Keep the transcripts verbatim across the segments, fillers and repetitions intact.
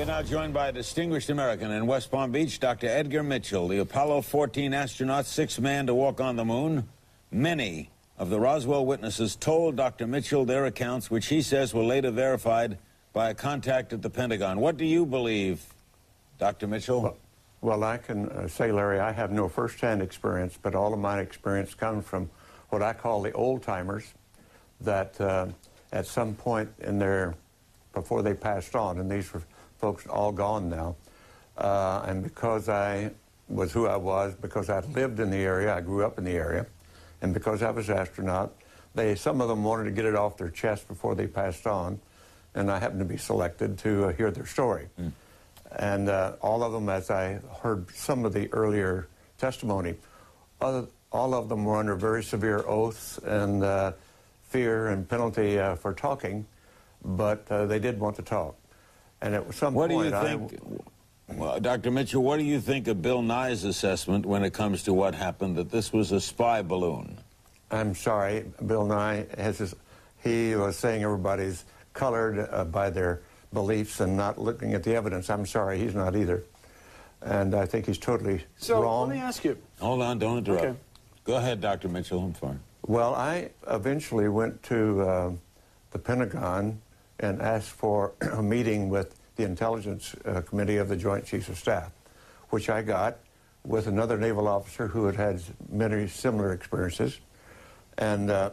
now joined by a distinguished American in West Palm Beach, Doctor Edgar Mitchell, the Apollo fourteen astronaut, sixth man to walk on the moon. Many of the Roswell witnesses told Doctor Mitchell their accounts, which he says were later verified by a contact at the Pentagon. What do you believe, Doctor Mitchell? Well, well I can uh, say, Larry, I have no first-hand experience, but all of my experience comes from what I call the old-timers that uh, at some point in their, before they passed on, and these were folks all gone now, uh, and because I was who I was, because I lived in the area, I grew up in the area, and because I was an astronaut, they, some of them wanted to get it off their chest before they passed on, and I happened to be selected to uh, hear their story. Mm. And uh, all of them, as I heard some of the earlier testimony, other, all of them were under very severe oaths and uh, fear and penalty uh, for talking, but uh, they did want to talk. And at some what point, do you think, I, well, Doctor Mitchell, what do you think of Bill Nye's assessment when it comes to what happened, that this was a spy balloon? I'm sorry, Bill Nye has his, he was saying everybody's colored uh, by their beliefs and not looking at the evidence. I'm sorry, he's not either. And I think he's totally so, wrong. So let me ask you. Hold on, don't interrupt. Okay. Go ahead, Doctor Mitchell, I'm fine. Well, I eventually went to uh, the Pentagon and asked for a meeting with the Intelligence uh, Committee of the Joint Chiefs of Staff, which I got with another naval officer who had had many similar experiences. And uh,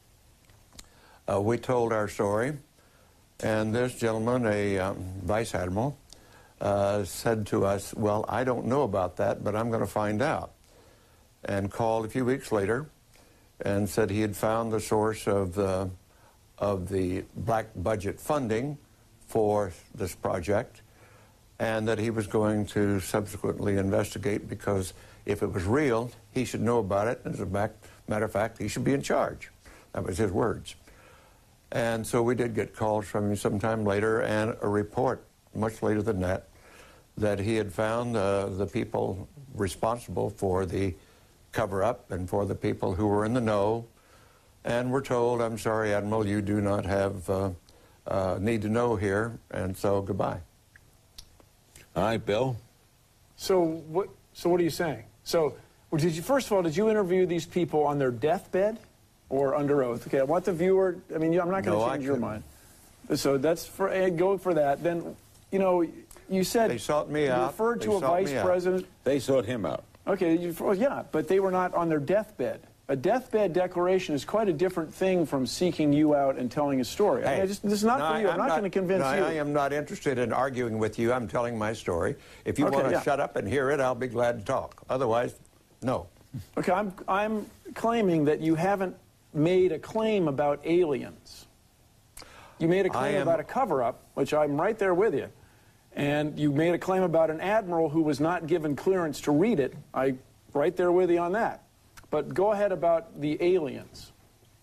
uh, we told our story, and this gentleman, a um, vice admiral, uh, said to us, well, I don't know about that, but I'm going to find out. And called a few weeks later and said he had found the source of the of the black budget funding for this project, and that he was going to subsequently investigate, because if it was real, he should know about it. As a matter of fact, he should be in charge. That was his words. And so we did get calls from him sometime later, and a report much later than that, that he had found uh, the people responsible for the cover-up and for the people who were in the know. And we're told, I'm sorry, Admiral, you do not have uh, uh, need to know here, and so goodbye. All right, Bill. So what? So what are you saying? So, well, did you first of all, did you interview these people on their deathbed or under oath? Okay, I want the viewer. I mean, I'm not going to no, change your mind. So that's for uh, go for that. Then, you know, you said they sought me you out. referred to they a vice president. They sought him out. Okay, you, well, yeah, but they were not on their deathbed. A deathbed declaration is quite a different thing from seeking you out and telling a story. Hey, I mean, I just, this is not no, for you. I'm, I'm not, not going to convince no, you. I am not interested in arguing with you. I'm telling my story. If you Okay, want to yeah. shut up and hear it, I'll be glad to talk. Otherwise, no. Okay, I'm, I'm claiming that you haven't made a claim about aliens. You made a claim am, about a cover-up, which I'm right there with you. And you made a claim about an admiral who was not given clearance to read it. I'm right there with you on that. But go ahead about the aliens.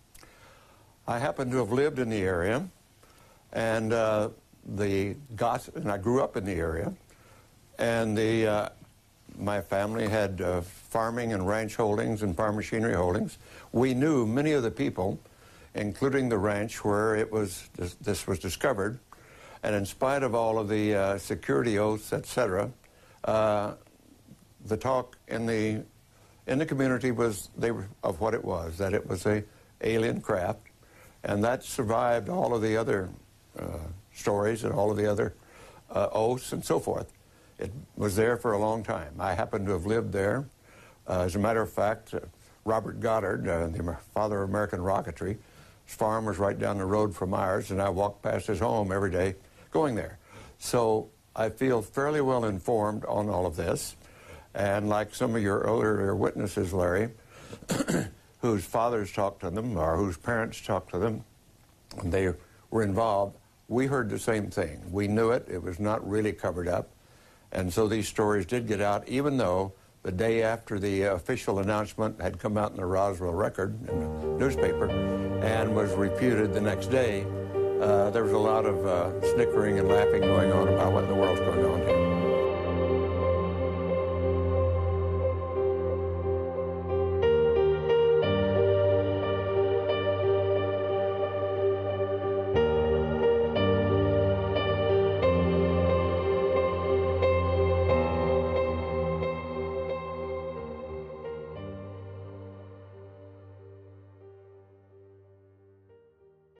I happen to have lived in the area, and uh, the gossip, and I grew up in the area, and the uh, my family had uh, farming and ranch holdings and farm machinery holdings. We knew many of the people, including the ranch where it was this, this was discovered, and in spite of all of the uh, security oaths, et cetera, uh, the talk in the in the community was they were, of what it was, that it was a alien craft, and that survived all of the other uh, stories and all of the other uh, oaths and so forth. It was there for a long time. I happen to have lived there. Uh, as a matter of fact, uh, Robert Goddard, uh, the father of American rocketry, his farm was right down the road from ours, and I walked past his home every day going there. So I feel fairly well informed on all of this. And like some of your earlier witnesses, Larry, whose fathers talked to them or whose parents talked to them, and they were involved, we heard the same thing. We knew it. It was not really covered up. And so these stories did get out, even though the day after the official announcement had come out in the Roswell Record in the newspaper and was refuted the next day, uh, there was a lot of uh, snickering and laughing going on about what in the world's going on here.